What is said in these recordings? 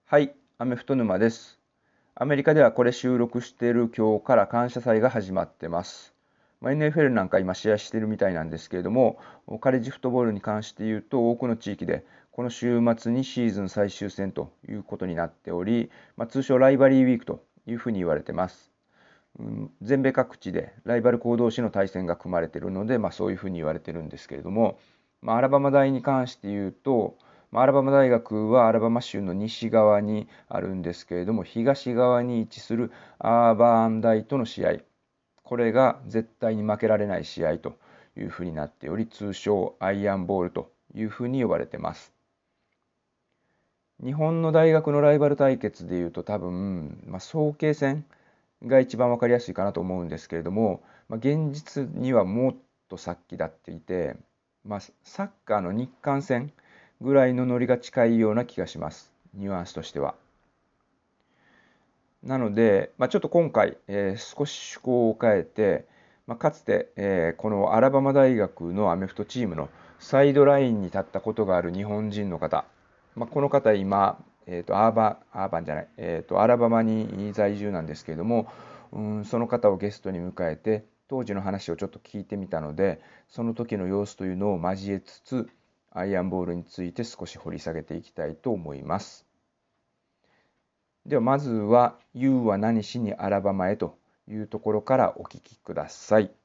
はい、アメフト沼です。アメリカではこれ収録している今日から感謝祭が始まってます。NFL なんか今試合してるみたいなんですけれども、カレッジフットボールに関して言うと多くの地域でこの週末にシーズン最終戦ということになっており、通称ライバリーウィークというふうに言われてます。全米各地でライバル校同士の対戦が組まれているので、そういうふうに言われてるんですけれども、アラバマ大に関して言うと、アラバマ大学はアラバマ州の西側にあるんですけれども、東側に位置するアーバーン大との試合、これが絶対に負けられない試合というふうになっており、通称アイアンボールというふうに呼ばれてます。日本の大学のライバル対決でいうと多分、早慶戦が一番わかりやすいかなと思うんですけれども、現実にはもっと先立っていて、サッカーの日韓戦ぐらいのノリが近いような気がします。ニュアンスとしては。なので、ちょっと今回、少し趣向を変えて、かつて、このアラバマ大学のアメフトチームのサイドラインに立ったことがある日本人の方、この方今、アーバンじゃない、アラバマに在住なんですけれども、その方をゲストに迎えて、当時の話をちょっと聞いてみたので、その時の様子というのを交えつつ、アイアンボールについて少し掘り下げていきたいと思います。ではまずは You は何しにアラバマへというところからお聞きください。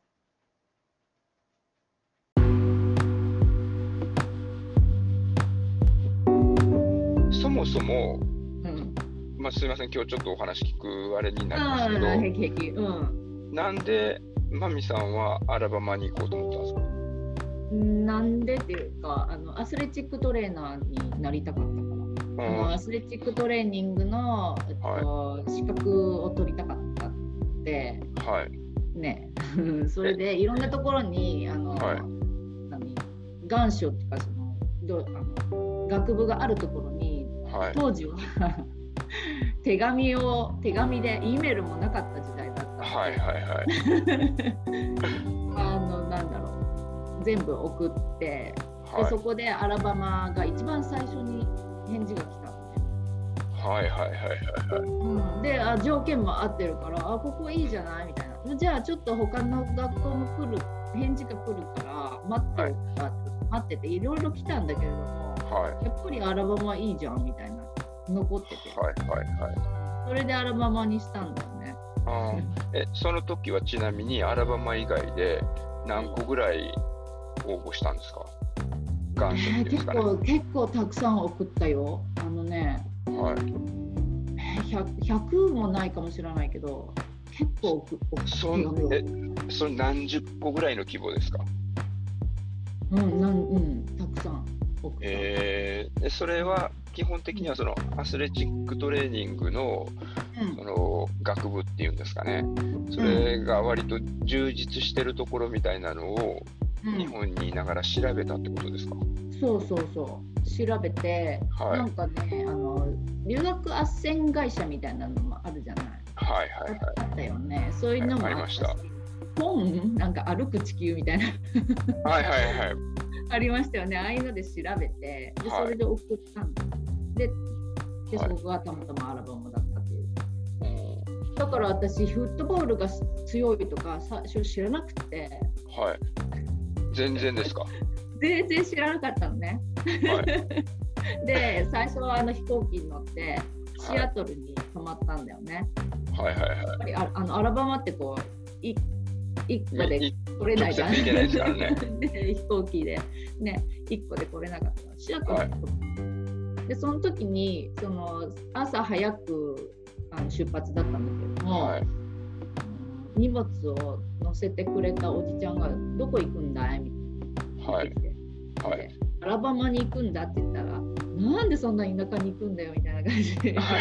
そもそも、 うん。 すいません、今日ちょっとお話聞くあれになりますけああ、 ど、 平気平気。うん。 なんでマミさんはアラバマに行こうと思ったんですか？ なんでっていうか、アスレチックトレーナーになりたかったから。アスレチックトレーニングの、資格を取りたかったって、 はい。 ね。それでいろんなところに願書とか学部があるところに、当時は手紙で E メールもなかった時代だったので、なんだろう、全部送って、でそこでアラバマが一番最初に返事が来たのね。で、条件も合ってるから、ここいいじゃないみたいな。じゃあちょっと他の学校も返事が来るから待ってていろいろ来たんだけれども、やっぱりアラバマいいじゃんみたいな残ってて、それでアラバマにしたんだよね。 その時はちなみにアラバマ以外で何個ぐらい応募したんですか？願書っていうんですかね。 結構たくさん送ったよ。100もないかもしれないけど、結構送ったよ。 それ何十個ぐらいの規模ですか？ たくさん送った。 それは基本的にはそのアスレチックトレーニングの、その学部っていうんですかね、それが割と充実してるところみたいなのを日本にいながら調べたってことですか？ そう調べて、なんかね、留学斡旋会社みたいなのもあるじゃない。あったよね。そういうのもありました。本なんか歩く地球みたいなありましたよね。ああいうので調べて、でそれで送ったんだ。でそこがたまたまアラバマだったっていう。だから私フットボールが強いとか最初知らなくて。 全然ですか？ 全然知らなかったのね。で最初は飛行機に乗ってシアトルに泊まったんだよね。やっぱりアラバマってこう一個で来れないじゃん。飛行機でね、1個で来れなかったからシアトルに泊まった。でその時に朝早く出発だったんだけども、荷物を乗せてくれたおじちゃんがどこ行くんだいみたいな。アラバマに行くんだって言ったら、なんでそんな田舎に行くんだよみたいな感じで。いやだ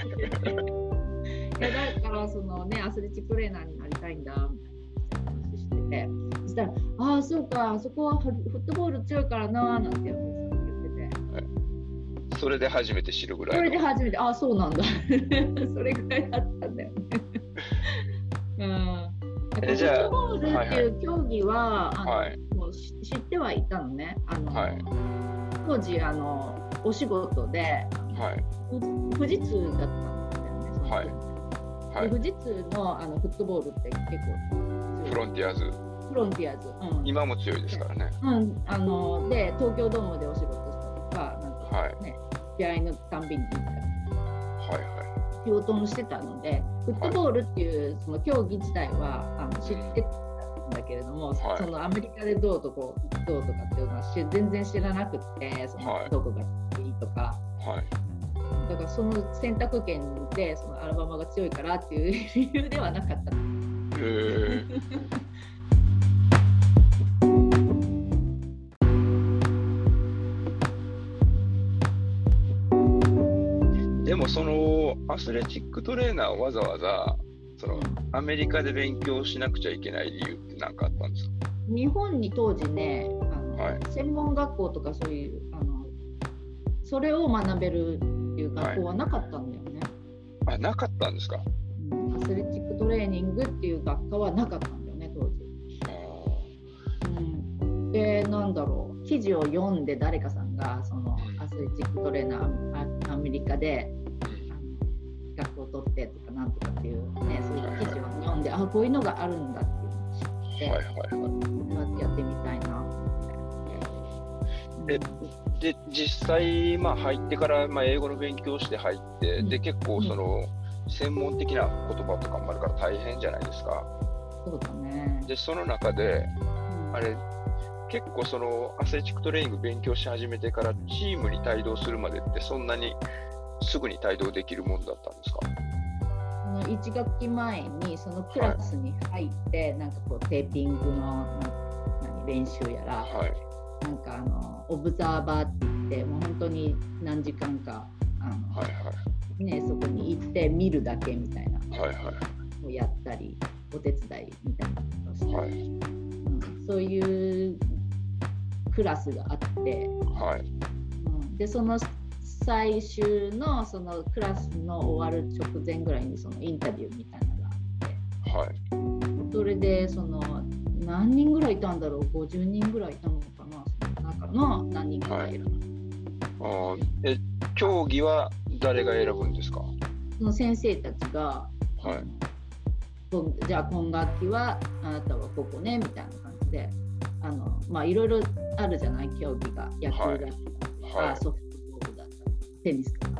からアスレチックトレーナーになりたいんだみたいな話してて、そしたらそうか、そこはフットボール強いからななんて言ってて、それで初めて知るぐらい。 それで初めてそうなんだそれぐらいだったんだよね。フットボールっていう競技はもう知ってはいたのね。当時お仕事で富士通だったんだよね、その時、で富士通のフットボールって結構フロンティアーズ、 今も強いですからね。 で東京ドームでお仕事したとか、なんかね、試合のたんびに行ったり、仕事もしてたので、フットボールっていうその競技自体は知ってたんだけれども、そのアメリカでどうとかっていうのは全然知らなくて、そのどこがいいとか。だからその選択権でそのアラバマが強いからっていう理由ではなかった。 でもそのアスレチックトレーナーをわざわざそのアメリカで勉強しなくちゃいけない理由って何かあったんですか？ 日本に当時ね、専門学校とかそういうそれを学べるっていう学校はなかったんだよね。 なかったんですか？ アスレチックトレーニングっていう学科はなかったんだよね、当時。で、なんだろう、記事を読んで誰かさんがそのアスレチックトレーナーアメリカで学校を取ってとかなんとかっていうね、そういう記事を読んで、こういうのがあるんだっていうのを知って、やってみたいなって。 で実際、入ってから、英語の勉強して入って、で結構その、専門的な言葉とかもあるから大変じゃないですか。 そうだね。 でその中で、あれ結構そのアスレチックトレーニング勉強し始めてからチームに帯同するまでってそんなにすぐに帯同できるものだったんですか ？1学期前にそのクラスに入って、なんかこうテーピングの練習やら、なんかオブザーバーって言って、もう本当に何時間かそこに行って見るだけみたいなをやったり、お手伝いみたいなことをしたり、そういうクラスがあって、でその最終のそのクラスの終わる直前ぐらいにそのインタビューみたいなのがあって、それでその何人ぐらいいたんだろう、50人ぐらいいたのかな、その中の何人かが選ぶ。 競技は誰が選ぶんですか？ その先生たちが、じゃあ今学期はあなたはここねみたいな感じで、いろいろあるじゃない、競技が、野球だったりとか、ソフトボールだったりテニスとか、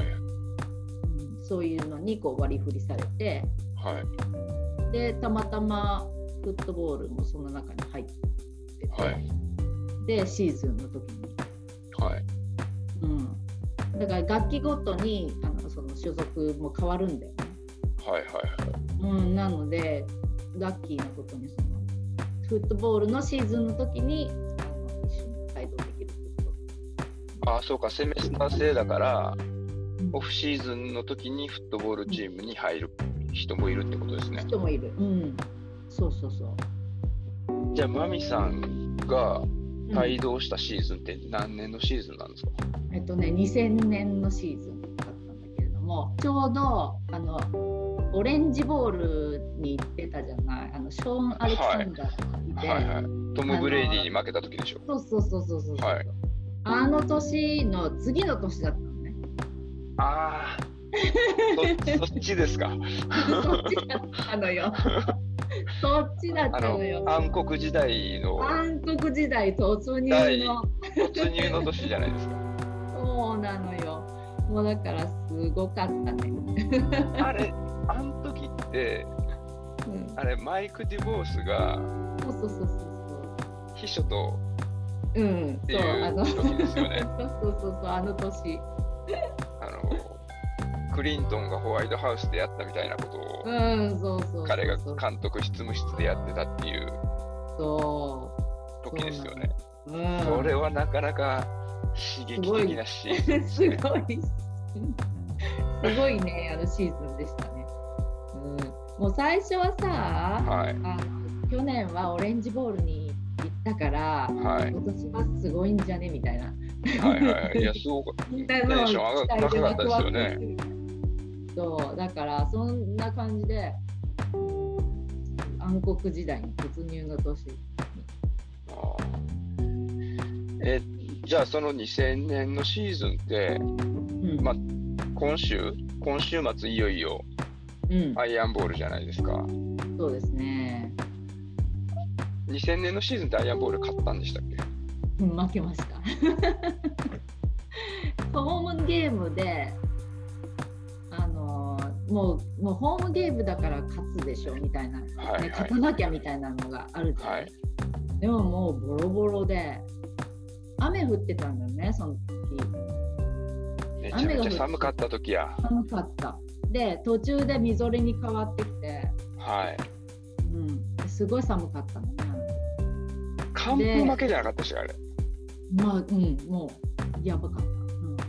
そういうのにこう割り振りされて、でたまたまフットボールもその中に入ってて、でシーズンの時に、だから楽器ごとにその所属も変わるんだよね。なのでラッキーなことにそのフットボールのシーズンの時に一緒に帯同できるってこと。 そうか、セメスター制だから、オフシーズンの時にフットボールチームに入る人もいるってことですね。 人もいる。そうそうそう。 じゃあマミさんが帯同したシーズンって何年のシーズンなんですか ？2000年のシーズンだったんだけれども、ちょうどオレンジボールに行ってたじゃない、ショーン・アレクサンダーがいて、 トム・ブレイディに負けた時でしょ。 そう、あの年の次の年だったのね。 そっちですか。 そっちだったのよ。そっちだったのよ。 暗黒時代の。 暗黒時代突入の年じゃないですか。 そうなのよ。もうだからすごかったね。 あの時って、マイク・デュボースが秘書とっていう時ですよね。 そうあの年。 クリントンがホワイトハウスでやったみたいなことを、彼が監督執務室でやってたっていう時ですよね。それはなかなか刺激的なシーズンですね。 すごいね、シーズンでしたね。もう最初はさ、去年はオレンジボールに行ったから、今年はすごいんじゃねみたいな。 いや、すごくテンション高かったですよね。 そうだからそんな感じで暗黒時代に突入の年に。 じゃあその2000年のシーズンって、まあ今週末いよいよアイアンボールじゃないですか。 そうですね。 2000年のシーズンってアイアンボール勝ったんでしたっけ？ 負けましたホームゲームでもうホームゲームだから勝つでしょみたいな、勝たなきゃみたいなのがあるじゃない、でももうボロボロで雨降ってたんだよね、その時。 めちゃめちゃ寒かった時や。 寒かった。で途中でみぞれに変わってきて、すごい寒かったのね。 完封負けじゃなかったし、あれ。 まあもうやばかった。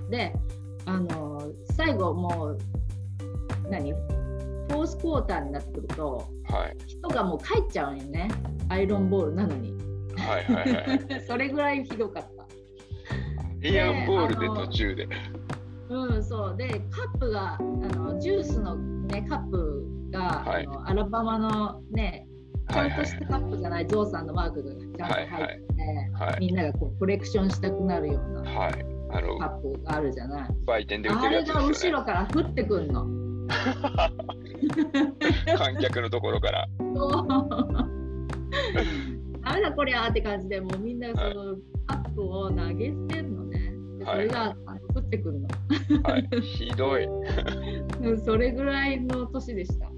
で最後もうフォースクォーターになってくると、人がもう帰っちゃうんよね、アイロンボールなのに。それぐらいひどかった。 アイアンボールで途中で。 そうでカップがジュースのねカップが、アラバマのねちゃんとしたカップじゃない、ゾウさんのマークがちゃんと入って、みんながこうコレクションしたくなるようなカップがあるじゃない。 売店で売ってるやつですよね。 あれが後ろから降ってくんの観客のところからダメだこりゃーって感じで、もうみんなそのカップを投げ捨てるのね。でそれが降ってくるのひどいそれぐらいの年でした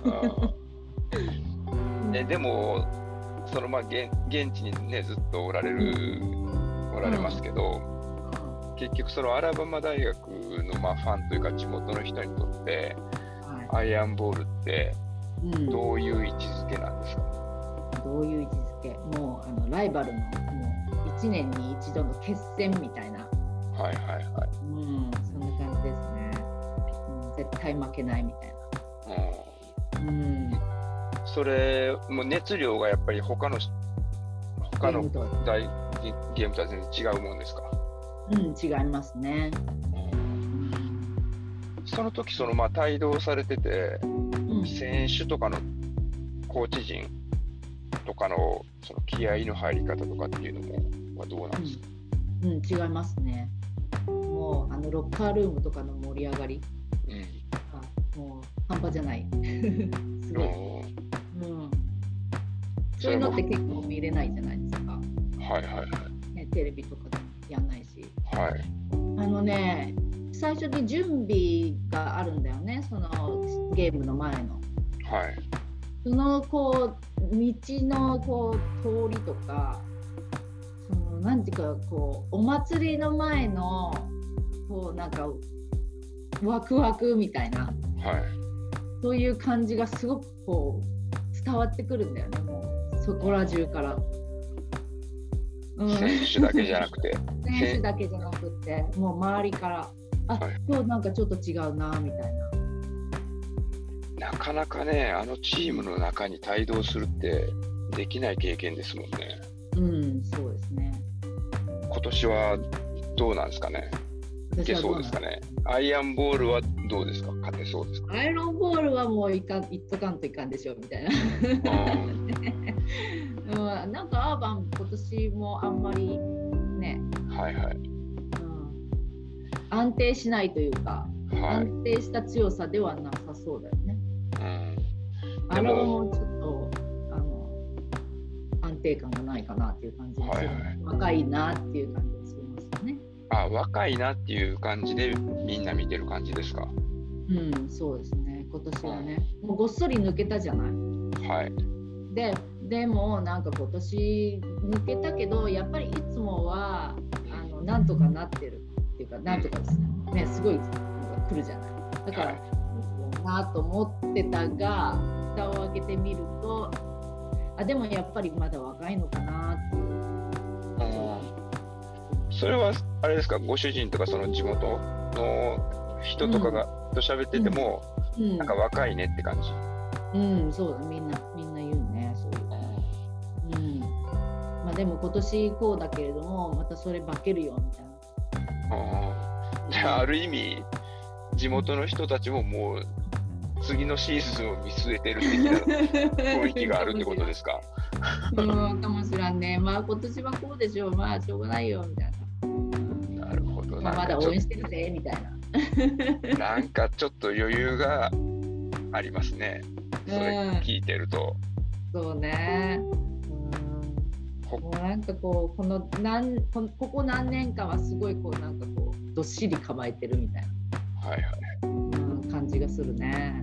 でもその現地にねずっとおられますけど、結局そのアラバマ大学のファンというか地元の人にとって、アイアンボールってどういう位置づけなんですか？ どういう位置づけ？もうライバルのもう1年に一度の決戦みたいな。そんな感じですね。絶対負けないみたいな。 それもう熱量がやっぱり他の大ゲームとは全然違うもんですか？ 違いますね。 その時帯同されてて、選手とかのコーチ陣とかのその気合いの入り方とかっていうのはどうなんですか？ 違いますね。もうロッカールームとかの盛り上がり、もう半端じゃないすごい。そういうのって結構見れないじゃないですか。テレビとかでもやんないし。最初に準備があるんだよね、そのゲームの前の。その道の通りとか、なんていうかお祭りの前のなんかワクワクみたいな、そういう感じがすごく伝わってくるんだよね、もうそこら中から。 選手だけじゃなくて選手だけじゃなくて、もう周りから今日なんかちょっと違うなみたいな。なかなかね、チームの中に帯同するってできない経験ですもんね。 そうですね。 今年はどうなんですかね。いけそうですかね。アイアンボールはどうですか？勝てそうですか？ アイアンボールはもういっとかんといかんでしょみたいな。なんかアーバン今年もあんまりね、安定しないというか、安定した強さではなさそうだよね。あれはもうちょっと安定感がないかなっていう感じでする。若いなっていう感じがしますよね。 若いなっていう感じでみんな見てる感じですか？ そうですね。今年はね、もうごっそり抜けたじゃない。でもなんか今年抜けたけど、やっぱりいつもはなんとかなってるっていうか、なんとかね、すごい来るじゃない。だからなと思ってたが、蓋を開けてみると、でもやっぱりまだ若いのかなっていう。 それはあれですか、ご主人とかその地元の人とかがと喋ってても、なんか若いねって感じ。 そうだ、みんな言うね、そういう。でも今年こうだけれども、またそれ化けるよみたいな。じゃあある意味地元の人たちももう次のシーズンを見据えてる的な雰囲気があるってことですか？ かもしらんね。今年はこうでしょう、しょうがないよみたいな。 まだ応援してるぜみたいな。なんかちょっと余裕がありますね。それ聞いてると。 そうね。もうなんかこうここ何年間はすごいこうなんかこうどっしり構えてるみたいな、感じがするね。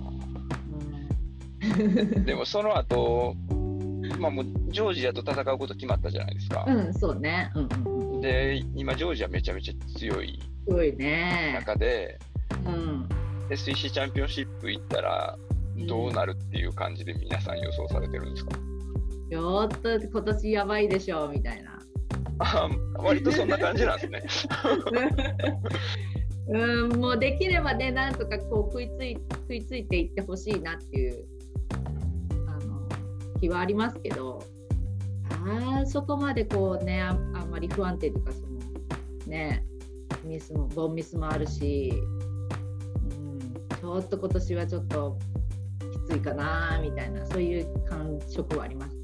でもその後、もうジョージアと戦うこと決まったじゃないですか。 そうね。 で今ジョージアめちゃめちゃ強い中で、SEC チャンピオンシップ行ったらどうなるっていう感じで皆さん予想されてるんですか？ ちょっと今年やばいでしょみたいな。 割とそんな感じなんですね。 もうできればね、なんとかこう食いついていってほしいなっていう気はありますけど、そこまでこうね、あんまり不安定というか、そのね、ボンミスもあるし、ちょっと今年はちょっときついかなみたいな、そういう感触はありますね。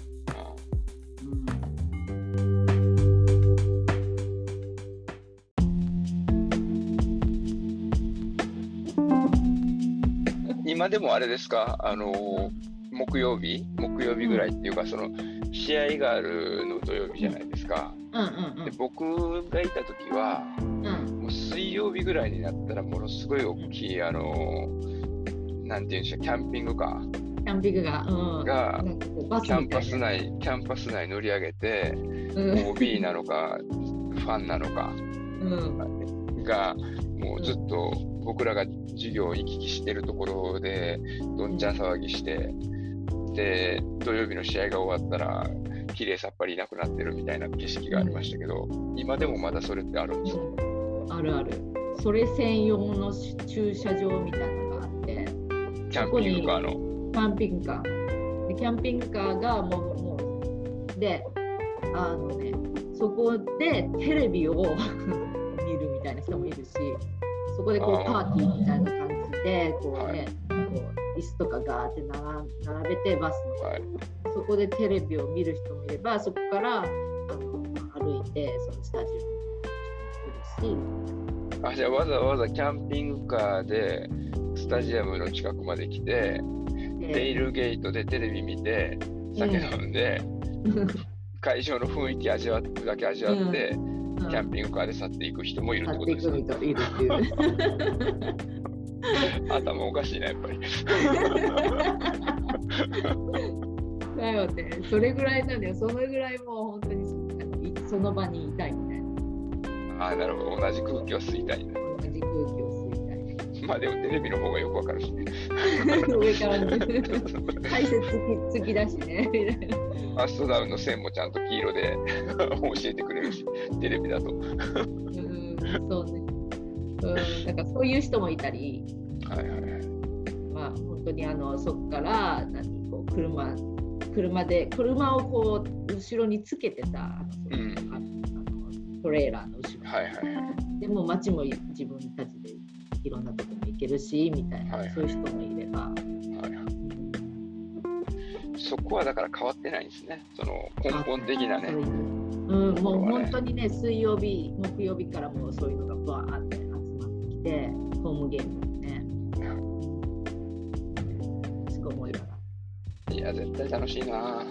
今でもあれですか、木曜日ぐらいっていうか、その試合があるの土曜日じゃないですか。で僕がいた時は、もう水曜日ぐらいになったらものすごい大きいなんていうんでしょう、キャンピングカーがキャンパス内乗り上げて、OB なのかファンなのかがもうずっと僕らが授業を行き来してるところでどんちゃん騒ぎして、で土曜日の試合が終わったらきれいさっぱりいなくなってるみたいな景色がありましたけど、今でもまだそれってあるんですか？ あるある。それ専用の駐車場みたいなのがあって、 キャンピングカーのキャンピングカーで、キャンピングカーがもうでそこでテレビを見るみたいな人もいるし、そこでこうパーティーみたいな感じでこうね、こう椅子とかガーって並べてバスの、そこでテレビを見る人もいれば、そこから歩いてそのスタジオに来るし。 じゃあわざわざキャンピングカーでスタジアムの近くまで来て、テールゲートでテレビ見て酒飲んで、会場の雰囲気味わって、キャンピングカーで去っていく人もいるってことですね。頭おかしいな、やっぱり。 だよね、それぐらいなんだよ。そのぐらいもう本当にその場にいたいみたいな。 なるほど、同じ空気を吸いたい。 同じ空気を吸いたい。 でもテレビの方がよくわかるしね。 上からね、解説付きだしね。 ファーストダウンの線もちゃんと黄色で教えてくれるし、テレビだと。 そうね。だからそういう人もいたり、本当にそこからこう車をこう後ろにつけてたトレーラーの後ろ、でも街も自分たちでいろんなところに行けるしみたいな、そういう人もいれば、 そこはだから変わってないんですね、その根本的なね。 もう本当にね、水曜日木曜日からもうそういうのがバーって集まってきて、ホームゲームね、すごい思いがいや絶対楽しいな。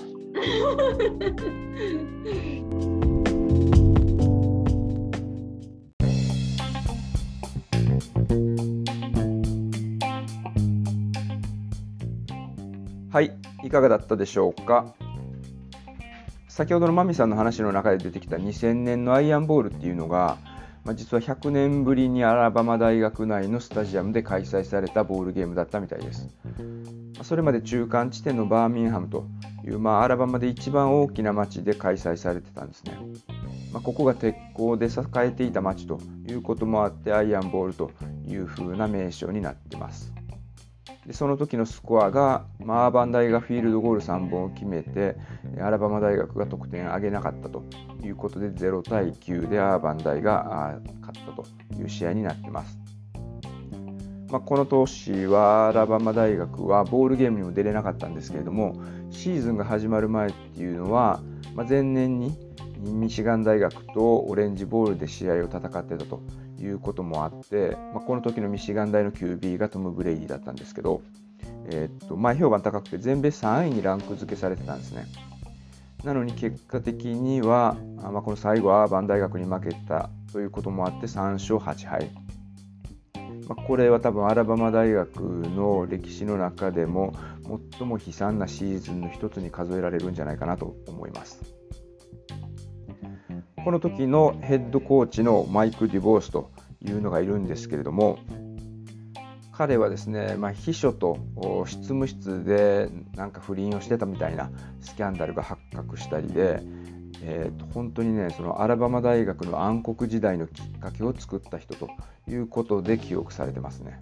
はい、いかがだったでしょうか。先ほどのマミさんの話の中で出てきた2000年のアイアンボールっていうのが、実は100年ぶりにアラバマ大学内のスタジアムで開催されたボールゲームだったみたいです。それまで中間地点のバーミンハムという、アラバマで一番大きな町で開催されてたんですね。ここが鉄鋼で栄えていた町ということもあって、アイアンボールという風な名称になっています。でその時のスコアが、アーバン大がフィールドゴール3本を決めて、アラバマ大学が得点を上げなかったということで0対9でアーバン大が勝ったという試合になっています。この年はアラバマ大学はボールゲームにも出れなかったんですけれども、シーズンが始まる前っていうのは、前年にミシガン大学とオレンジボールで試合を戦ってたということもあって、この時のミシガン大の QB がトム・ブレイディだったんですけど、前評判高くて全米3位にランク付けされてたんですね。なのに結果的には、この最後アーバン大学に負けたということもあって3勝8敗。これは多分アラバマ大学の歴史の中でも最も悲惨なシーズンの一つに数えられるんじゃないかなと思います。この時のヘッドコーチのマイク・デュボースというのがいるんですけれども、彼はですね、秘書と執務室でなんか不倫をしてたみたいなスキャンダルが発覚したりで、本当にね、そのアラバマ大学の暗黒時代のきっかけを作った人ということで記憶されてますね。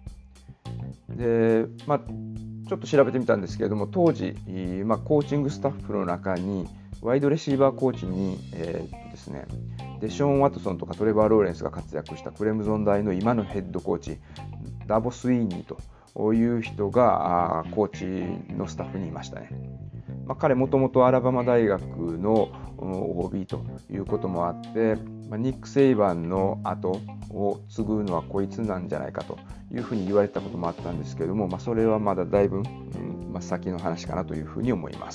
で、ちょっと調べてみたんですけれども、当時、コーチングスタッフの中にワイドレシーバーコーチに、ですね、デショーン・ワトソンとかトレバー・ローレンスが活躍したクレムゾン大の今のヘッドコーチダボ・スイーニーという人がコーチのスタッフにいましたね。彼もともとアラバマ大学の OB ということもあって、ニック・セイバンの後を継ぐのはこいつなんじゃないかというふうに言われたこともあったんですけれども、それはまだだいぶ、先の話かなというふうに思います。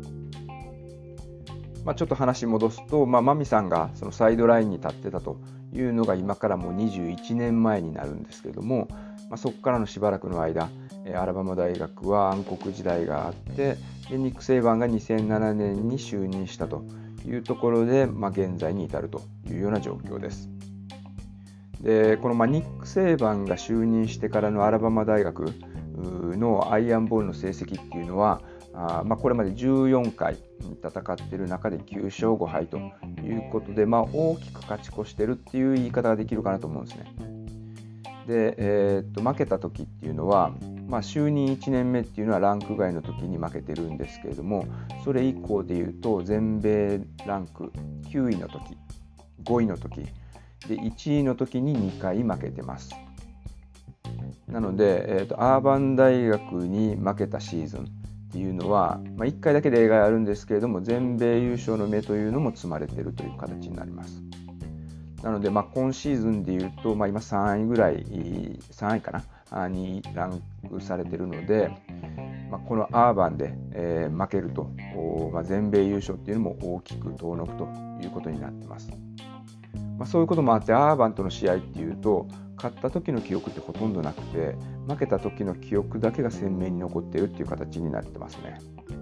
ちょっと話戻すと、マミさんがそのサイドラインに立ってたというのが今からもう21年前になるんですけれども、そこからのしばらくの間、アラバマ大学は暗黒時代があって、でニック・セイバンが2007年に就任したというところで、現在に至るというような状況です。でこのニック・セイバンが就任してからのアラバマ大学のアイアンボールの成績っていうのは、これまで14回戦っている中で9勝5敗ということで、大きく勝ち越してるっていう言い方ができるかなと思うんですね。で、負けた時っていうのは、就任1年目っていうのはランク外の時に負けてるんですけれども、それ以降でいうと全米ランク9位の時、5位の時で1位の時に2回負けてます。なので、アーバン大学に負けたシーズンっていうのは、1回だけ例外あるんですけれども、全米優勝の目というのも積まれているという形になります。なので、今シーズンでいうと、今3位ぐらい、3位かなにランクされているので、このアーバンで、負けると、全米優勝っていうのも大きく遠のくということになっています。そういうこともあって、アーバンとの試合っていうと、勝った時の記憶ってほとんどなくて、負けた時の記憶だけが鮮明に残っているっていう形になってますね。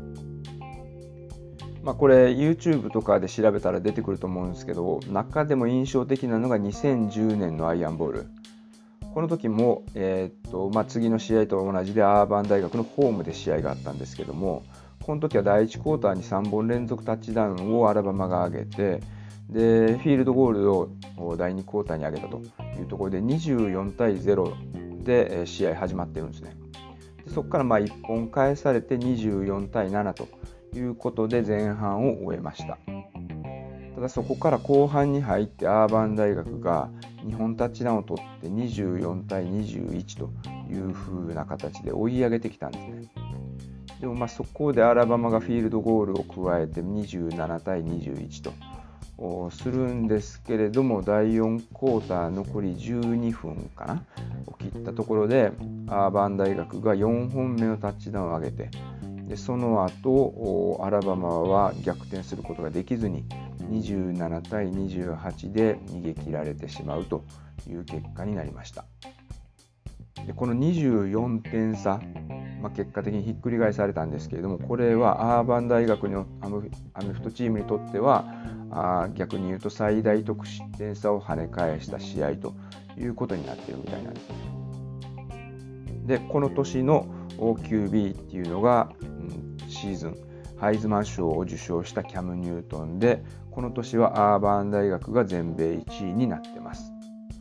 これ YouTube とかで調べたら出てくると思うんですけど、中でも印象的なのが2010年のアイアンボール。この時も、次の試合と同じでアーバン大学のホームで試合があったんですけども、この時は第1クォーターに3本連続タッチダウンをアラバマが上げて、でフィールドゴールを第2クォーターに上げたというところで24対0で試合始まってるんですね。でそこから1本返されて24対7ということで前半を終えました。ただそこから後半に入ってアーバン大学が2本タッチダウンを取って24対21という風な形で追い上げてきたんですね。でもそこでアラバマがフィールドゴールを加えて27対21とするんですけれども、第4クォーター残り12分かなを切ったところでアーバン大学が4本目のタッチダウンを上げて、でその後アラバマは逆転することができずに27対28で逃げ切られてしまうという結果になりました。でこの24点差、結果的にひっくり返されたんですけれども、これはアーバン大学のアメフトチームにとっては逆に言うと最大得失点差を跳ね返した試合ということになっているみたいなんですね。でこの年の QB っていうのが、シーズンハイズマン賞を受賞したキャム・ニュートンで、この年はアーバン大学が全米1位になってます。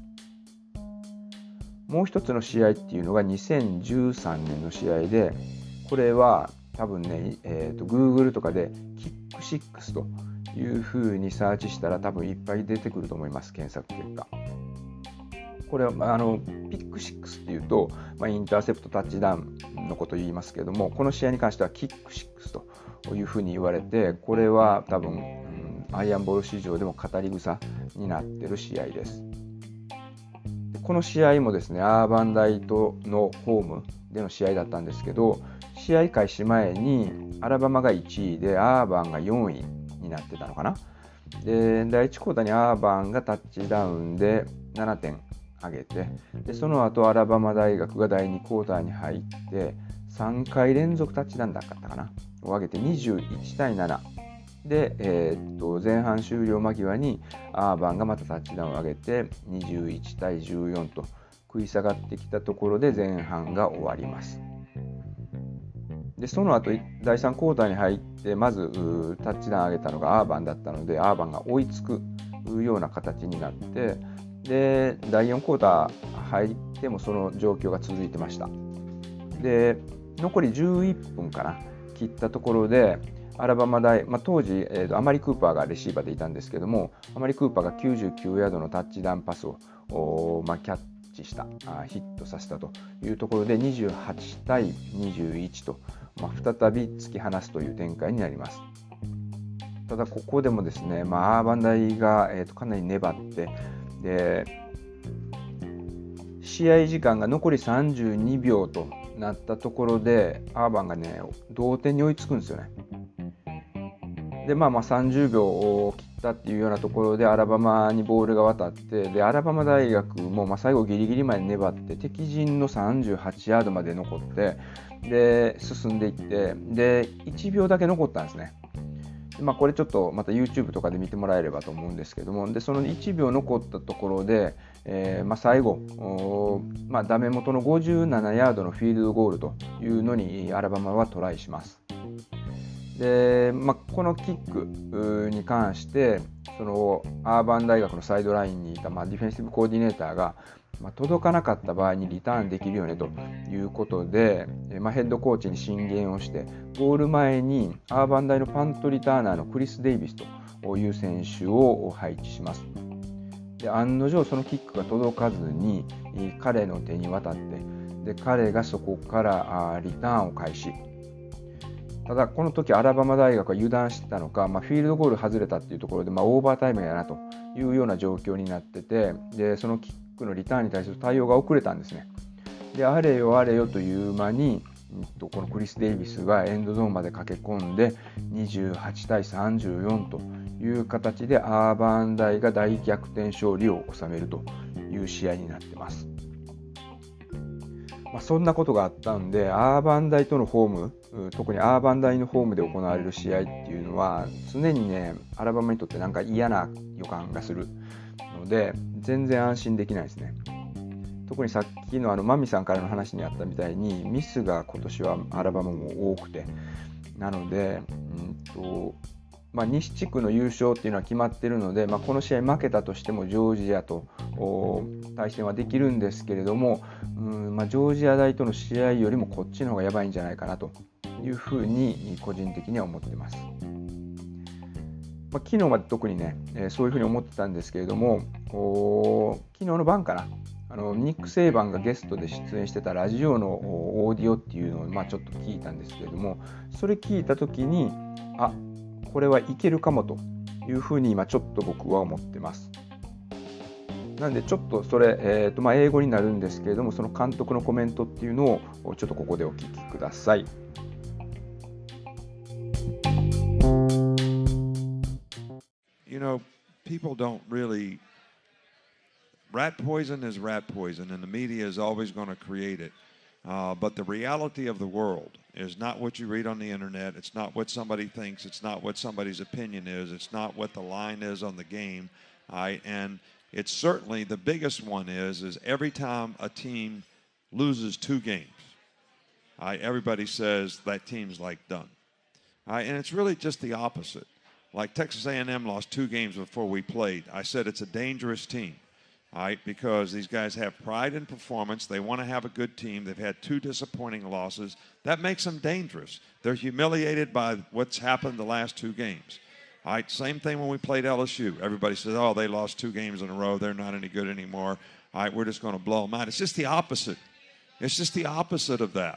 もう一つの試合っていうのが2013年の試合で、これは多分ね、Google とかでキック6というふうにサーチしたら多分いっぱい出てくると思います、検索結果。これはピック6っていうと、インターセプトタッチダウンのことを言いますけれども、この試合に関してはキック6というふうに言われて、これは多分、 アイアンボール史上でも語り草になっている試合です。この試合もですね、アーバン大とのホームでの試合だったんですけど、試合開始前にアラバマが1位でアーバンが4位になってたのかな。で、第1クォーターにアーバンがタッチダウンで7点上げて、でその後アラバマ大学が第2クォーターに入って3回連続タッチダウンだったかなを上げて21対7で、前半終了間際にアーバンがまたタッチダウンを上げて21対14と食い下がってきたところで前半が終わります。でその後第3クォーターに入ってまずタッチダウン上げたのがアーバンだったので、アーバンが追いつくような形になって、で第4クォーター入ってもその状況が続いてました。で残り11分かな切ったところでアラバマ大、当時、アマリ・クーパーがレシーバーでいたんですけども、アマリ・クーパーが99ヤードのタッチダウンパスをキャッチしたヒットさせたというところで28対21と、再び突き放すという展開になります。ただここでもですね、アーバン大が、かなり粘って、で試合時間が残り32秒となったところでアーバンがね同点に追いつくんですよね。で30秒を切ったっていうようなところでアラバマにボールが渡って、でアラバマ大学も最後ギリギリまで粘って敵陣の38ヤードまで残って、で進んでいって、で1秒だけ残ったんですね。これちょっとまた YouTube とかで見てもらえればと思うんですけども、でその1秒残ったところで、最後ダメ元の57ヤードのフィールドゴールというのにアラバマはトライします。でこのキックに関してそのアーバン大学のサイドラインにいたディフェンシブコーディネーターが届かなかった場合にリターンできるよねということで、ヘッドコーチに進言をして、ゴール前にアーバン大のパントリターナーのクリス・デイビスという選手を配置します。で案の定そのキックが届かずに彼の手に渡って、で彼がそこからリターンを開始。ただこの時アラバマ大学は油断してたのか、フィールドゴール外れたっていうところで、オーバータイムやなというような状況になってて、でそのキックのリターンに対する対応が遅れたんですね。であれよあれよという間にこのクリス・デイビスがエンドゾーンまで駆け込んで28対34という形でアーバン大が大逆転勝利を収めるという試合になってます。そんなことがあったんで、アーバン大とのホーム、特にアーバン大のホームで行われる試合っていうのは常にねアラバマにとってなんか嫌な予感がするので全然安心できないですね。特にさっきのマミさんからの話にあったみたいにミスが今年はアラバマも多くて、なので西地区の優勝っていうのは決まっているので、この試合負けたとしてもジョージアと対戦はできるんですけれども、ジョージア大との試合よりもこっちの方がやばいんじゃないかなというふうに個人的には思っています。昨日まで特にね、そういうふうに思ってたんですけれども、昨日の晩かな、ニック・セイバンがゲストで出演してたラジオのオーディオっていうのをちょっと聞いたんですけれども、それ聞いた時にこれはいけるかもというふうに今ちょっと僕は思ってます。なんでちょっとそれ、英語になるんですけれども、その監督のコメントっていうのをちょっとここでお聞きください。 People don't really rat poison is rat poison, and the media is always going to create it. But the reality of the world is not what you read on the internet. It's not what somebody thinks. It's not what somebody's opinion is. It's not what the line is on the game. And it's certainly the biggest one is every time a team loses 2 games, everybody says that team's like done. And it's really just the opposite. Like Texas A&M lost 2 games before we played. I said it's a dangerous team. Because these guys have pride in performance. They want to have a good team. They've had 2 disappointing losses. That makes them dangerous. They're humiliated by what's happened the last 2 games. Same thing when we played LSU. Everybody says, they lost 2 games in a row. They're not any good anymore. We're just going to blow them out. It's just the opposite. It's just the opposite of that.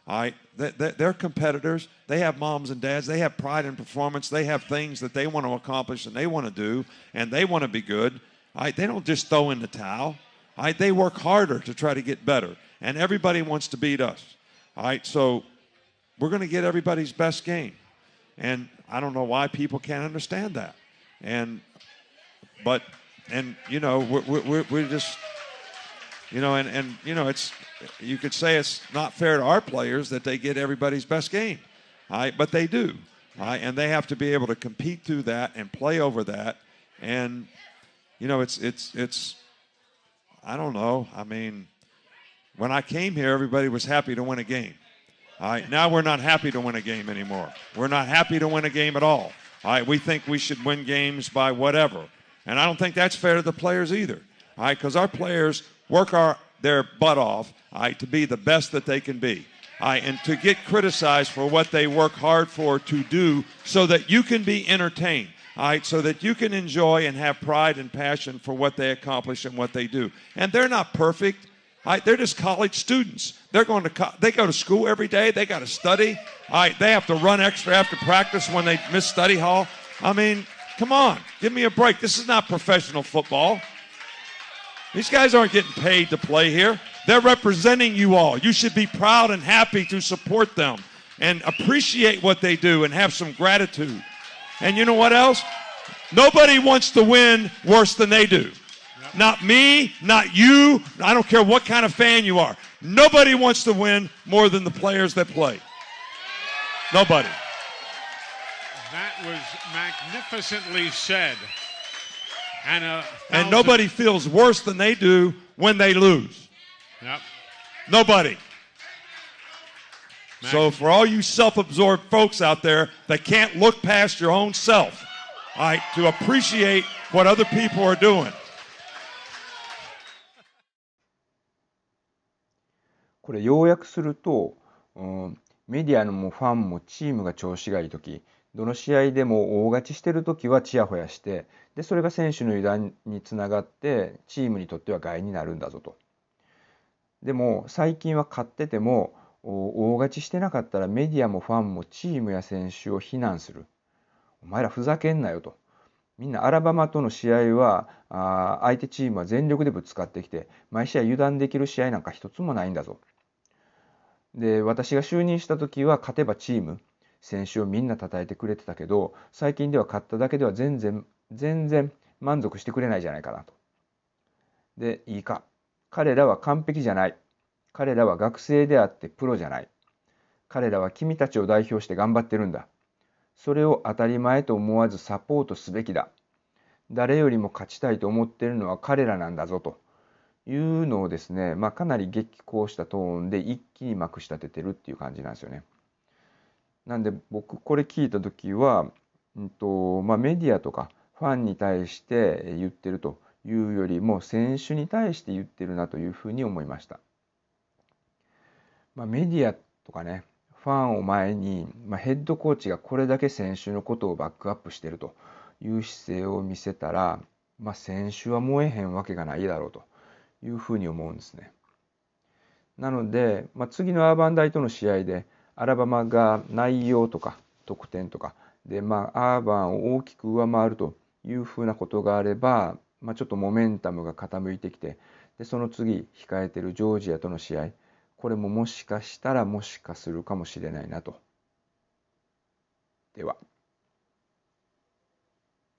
All right, they're competitors. They have moms and dads. They have pride in performance. They have things that they want to accomplish and they want to do, and they want to be good. All right, they don't just throw in the towel. All right, they work harder to try to get better, and everybody wants to beat us. All right, so we're going to get everybody's best game, and I don't know why people can't understand that. But you know, we're just, you know, and you know, it's, you could say it's not fair to our players that they get everybody's best game, all right, but they do, all right, and they have to be able to compete through that and play over that, and you know, it's I don't know. I mean, when I came here, everybody was happy to win a game. All right, now we're not happy to win a game anymore. We're not happy to win a game at all. All right, we think we should win games by whatever. And I don't think that's fair to the players either. All right, because our players work their butt off, all right, to be the best that they can be. All right, and to get criticized for what they work hard for to do so that you can be entertained. All right, so that you can enjoy and have pride and passion for what they accomplish and what they do. And they're not perfect. All right, they're just college students. They go to school every day. They got to study. All right, they have to run extra after practice when they miss study hall. I mean, come on, give me a break. This is not professional football. These guys aren't getting paid to play here. They're representing you all. You should be proud and happy to support them and appreciate what they do and have some gratitude. And you know what else? Nobody wants to win worse than they do. Yep. Not me, not you. I don't care what kind of fan you are. Nobody wants to win more than the players that play. Nobody. That was magnificently said. And nobody feels worse than they do when they lose. Yep. Nobody. So for all you self-absorbed folks out there that can't look past your own self, all right, to appreciate what other people are doing. これ要約すると、メディアのファンもチームが調子がいいとき、どの試合でも大勝ちしてるときはチヤホヤして、でそれが選手の油断につながってチームにとっては害になるんだぞと。でも最近は勝ってても大勝ちしてなかったらメディアもファンもチームや選手を非難する。お前らふざけんなよと。みんなアラバマとの試合は相手チームは全力でぶつかってきて毎試合油断できる試合なんか一つもないんだぞ。で私が就任した時は勝てばチーム選手をみんな称えてくれてたけど最近では勝っただけでは全然満足してくれないじゃないかなと。でいいか彼らは完璧じゃない。彼らは学生であってプロじゃない。彼らは君たちを代表して頑張ってるんだ。それを当たり前と思わずサポートすべきだ。誰よりも勝ちたいと思っているのは彼らなんだぞというのをですね、かなり激高したトーンで一気にまくし立ててるっていう感じなんですよね。なんで僕これ聞いた時は、メディアとかファンに対して言ってるというよりも選手に対して言ってるなというふうに思いました。メディアとかね、ファンを前に、ヘッドコーチがこれだけ選手のことをバックアップしているという姿勢を見せたら、選手は燃えへんわけがないだろうというふうに思うんですね。なので、次のアーバン大との試合でアラバマが内容とか得点とかで、アーバンを大きく上回るというふうなことがあれば、ちょっとモメンタムが傾いてきて、でその次控えているジョージアとの試合、これももしかしたらもしかするかもしれないなと。では。